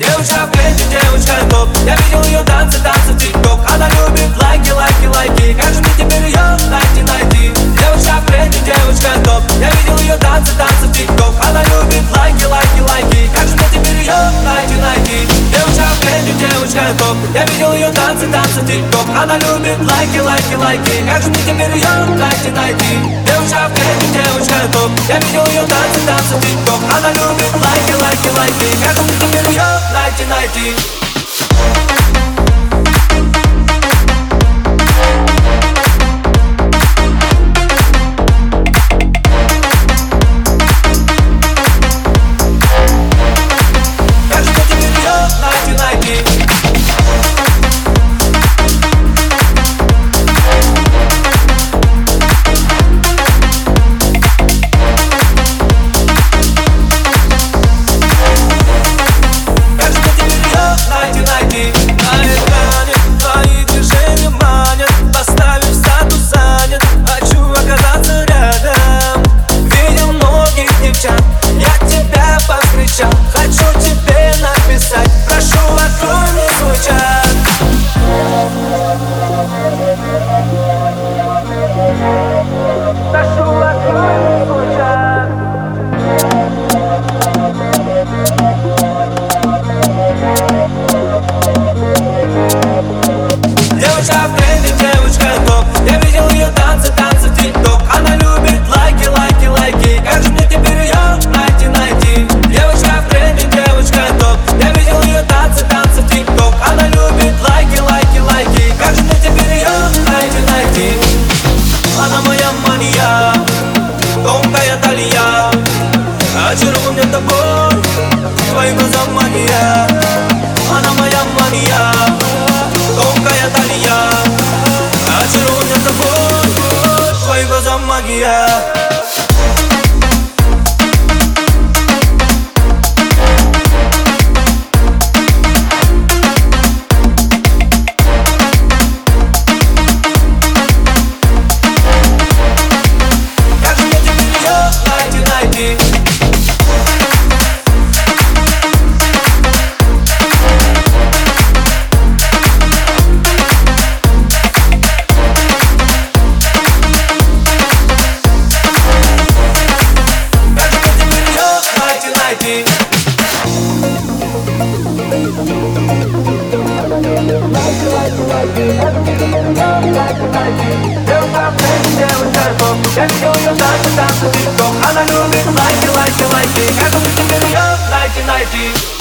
Девушка в тренде, девушка топ. Я видел ее танцы в тик-ток. Она любит лайки, лайки, лайки. Как же мне теперь ее найти? Девушка в тренде, девушка топ. Я видел ее танцы в тик-ток. Она любит лайки, лайки, лайки. Как же мне теперь ее найти? Девушка в тренде, девушка топ. Я видел ее танцы в тик-ток. Она любит лайки, лайки, лайки. Как же мне теперь ее найти? Девушка в тренде, девушка топ. Я видел ее танцы в тик-ток. Она любит лайки, лайки, лайки. Как же мне теперь ее найти? Хочу тебе написать, прошу, открой мне свой чат. Прошу, открой мне свой чат. Девушка в тренде, девушка топ. Я видел ее танцы в тик-ток. Она любит лайки, лайки, лайки. Как же мне теперь ее найти? Девушка в тренде, девушка топ. Я видел ее танцы в тик-ток. Она любит лайки, лайки, лайки. Как же мне теперь ее найти? Она моя мания, тонкая талия. Очарован тобой, твои глаза мания. Она моя мания, тонкая талия. Очарован тобой, твои глаза магия. Я видел ее танцы в тик-ток. Она любит лайки, лайки, лайки. Как же мне теперь ее найти?